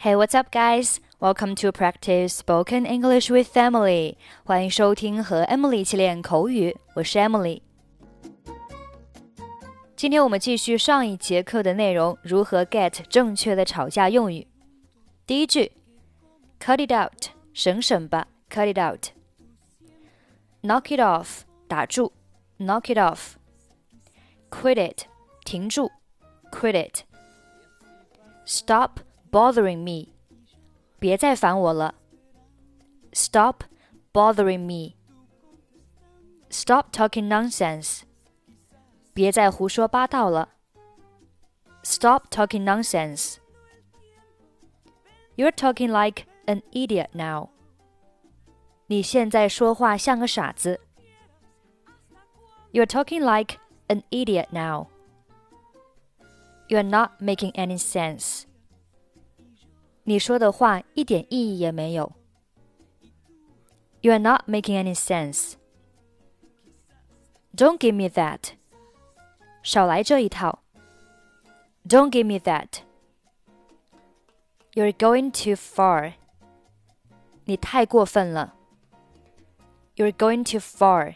Hey, what's up, guys? Welcome to practice spoken English with Emily. 欢迎收听和 Emily 一起练口语，我是 Emily。今天我们继续上一节课的内容，如何 get 正确的吵架用语。第一句 ，cut it out， 省省吧 ，cut it out。knock it off， 打住 ，knock it off。quit it， 停住 ，quit it。stop bothering me， 别再烦我了 Stop bothering me Stop talking nonsense 别再胡说八道了 Stop talking nonsense You're talking like an idiot now 你现在说话像个傻子 You're talking like an idiot now You're not making any sense你说的话一点意义也没有 You are not making any sense Don't give me that 少来这一套 Don't give me that You're going too far 你太过分了 You're going too far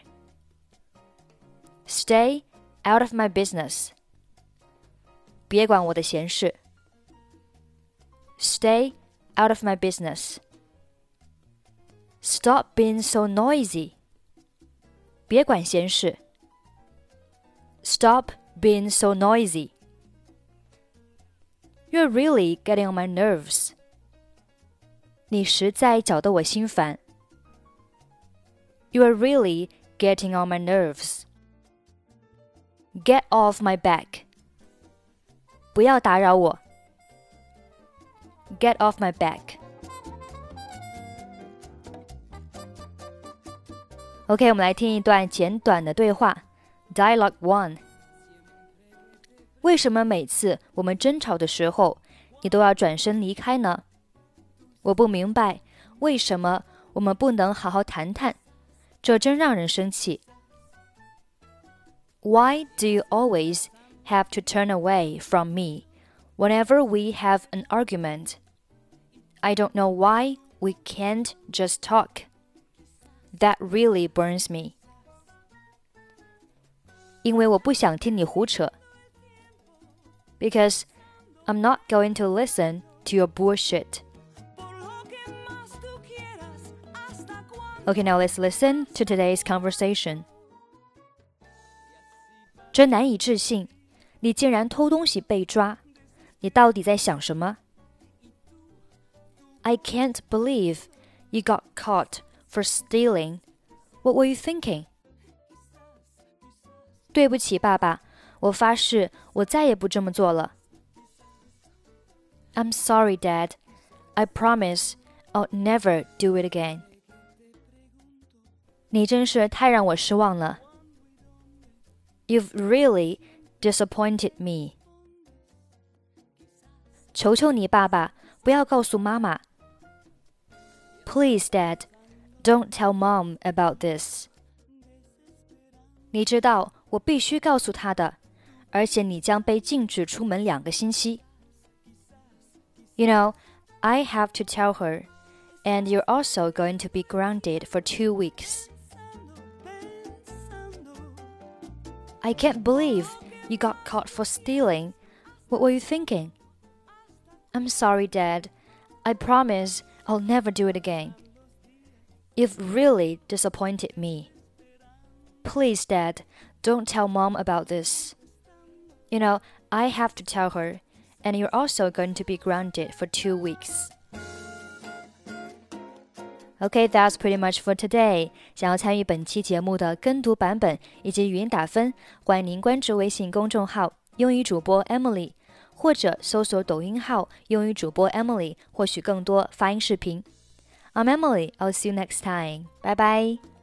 Stay out of my business 别管我的闲事Stay out of my business. Stop being so noisy. 别管闲事 Stop being so noisy. You're really getting on my nerves. 你实在搅得我心烦 You're really getting on my nerves. Get off my back. 不要打扰我Get off my back. OK, 我们来听一段简短的对话。Dialogue 1. 为什么每次我们争吵的时候，你都要转身离开呢？我不明白，为什么我们不能好好谈谈？这真让人生气。Why do you always have to turn away from me whenever we have an argument? I don't know why we can't just talk. That really burns me. 因为我不想听你胡扯 Because I'm not going to listen to your bullshit. Okay, now let's listen to today's conversation. 真难以置信，你竟然偷东西被抓，你到底在想什么？I can't believe you got caught for stealing. What were you thinking? 对不起，爸爸，我发誓我再也不这么做了。I'm sorry, Dad. I promise I'll never do it again. 你真是太让我失望了。You've really disappointed me. 求求你，爸爸，不要告诉妈妈。Please, Dad, don't tell Mom about this. 你知道我必须告诉她的，而且你将被禁止出门2个星期。You know, I have to tell her, and you're also going to be grounded for 2 weeks. I can't believe you got caught for stealing. What were you thinking? I'm sorry, Dad. I promise I'll never do it again. You've really disappointed me. Please, Dad, don't tell Mom about this. You know, I have to tell her, and you're also going to be grounded for 2 weeks. Okay, that's pretty much for today. 想要参与本期节目的跟读版本以及语音打分，欢迎您关注微信公众号“英语主播 Emily”。或者搜索抖音号英语主播 Emily 获取更多发音视频。I'm Emily, I'll see you next time. Bye bye.